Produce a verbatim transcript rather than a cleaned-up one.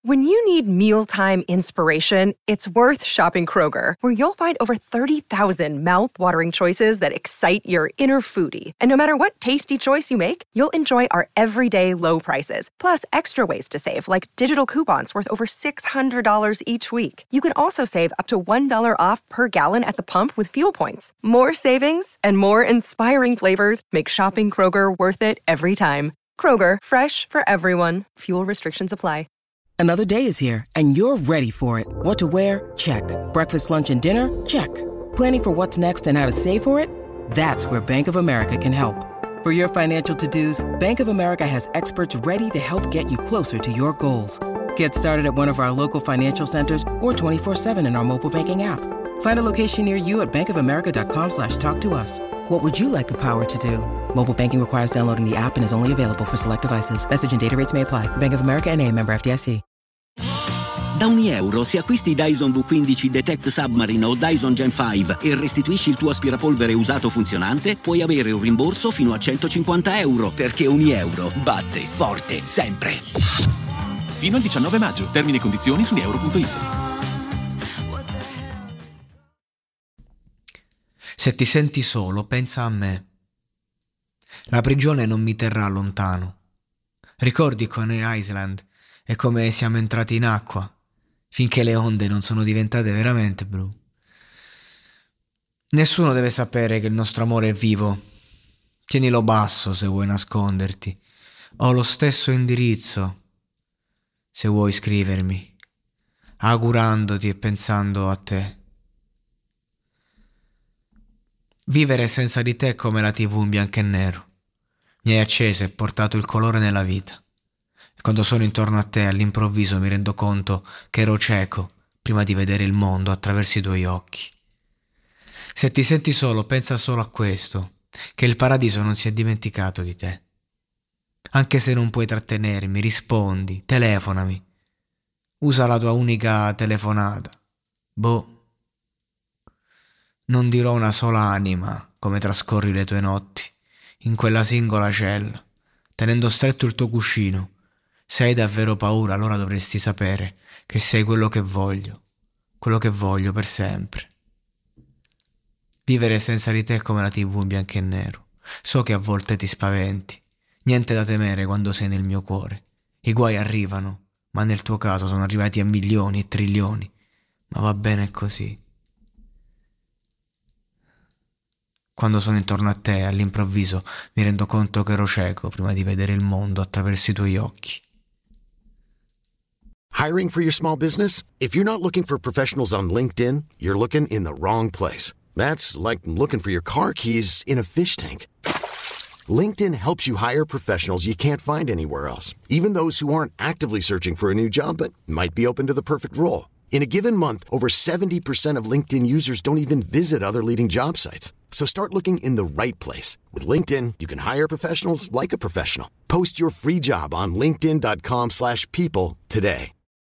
When you need mealtime inspiration, it's worth shopping Kroger, where you'll find over thirty thousand mouth-watering choices that excite your inner foodie. And no matter what tasty choice you make, you'll enjoy our everyday low prices, plus extra ways to save, like digital coupons worth over six hundred dollars each week. You can also save up to one dollar off per gallon at the pump with fuel points. More savings and more inspiring flavors make shopping Kroger worth it every time. Kroger, fresh for everyone. Fuel restrictions apply. Another day is here, and you're ready for it. What to wear? Check. Breakfast, lunch, and dinner? Check. Planning for what's next and how to save for it? That's where Bank of America can help. For your financial to-dos, Bank of America has experts ready to help get you closer to your goals. Get started at one of our local financial centers or twenty-four seven in our mobile banking app. Find a location near you at bankofamerica.com slash talk to us. What would you like the power to do? Mobile banking requires downloading the app and is only available for select devices. Message and data rates may apply. Bank of America N A, member F D I C. Da ogni euro, se acquisti Dyson V quindici Detect Submarine o Dyson Gen cinque e restituisci il tuo aspirapolvere usato funzionante, puoi avere un rimborso fino a centocinquanta euro, perché ogni euro batte forte sempre. Fino al diciannove maggio. Termini e condizioni su euro punto it. Se ti senti solo, pensa a me. La prigione non mi terrà lontano. Ricordi Coney Island e come siamo entrati in acqua, finché le onde non sono diventate veramente blu. Nessuno deve sapere che il nostro amore è vivo. Tienilo basso se vuoi nasconderti. Ho lo stesso indirizzo se vuoi scrivermi, augurandoti e pensando a te. Vivere senza di te è come la tivù in bianco e nero. Mi hai acceso e portato il colore nella vita. E quando sono intorno a te, all'improvviso mi rendo conto che ero cieco prima di vedere il mondo attraverso i tuoi occhi. Se ti senti solo, pensa solo a questo, che il paradiso non si è dimenticato di te. Anche se non puoi trattenermi, rispondi, telefonami. Usa la tua unica telefonata. Boh. Non dirò una sola anima come trascorri le tue notti in quella singola cella, tenendo stretto il tuo cuscino. Se hai davvero paura, allora dovresti sapere che sei quello che voglio, quello che voglio per sempre. Vivere senza di te è come la tivù in bianco e nero. So che a volte ti spaventi. Niente da temere quando sei nel mio cuore. I guai arrivano, ma nel tuo caso sono arrivati a milioni e trilioni. Ma va bene così. Quando sono intorno a te, all'improvviso, mi rendo conto che ero cieco prima di vedere il mondo attraverso i tuoi occhi. Hiring for your small business? If you're not looking for professionals on LinkedIn, you're looking in the wrong place. That's like looking for your car keys in a fish tank. LinkedIn helps you hire professionals you can't find anywhere else, even those who aren't actively searching for a new job but might be open to the perfect role. In a given month, over seventy percent of LinkedIn users don't even visit other leading job sites. So start looking in the right place. With LinkedIn, you can hire professionals like a professional. Post your free job on linkedin dot com slash people today.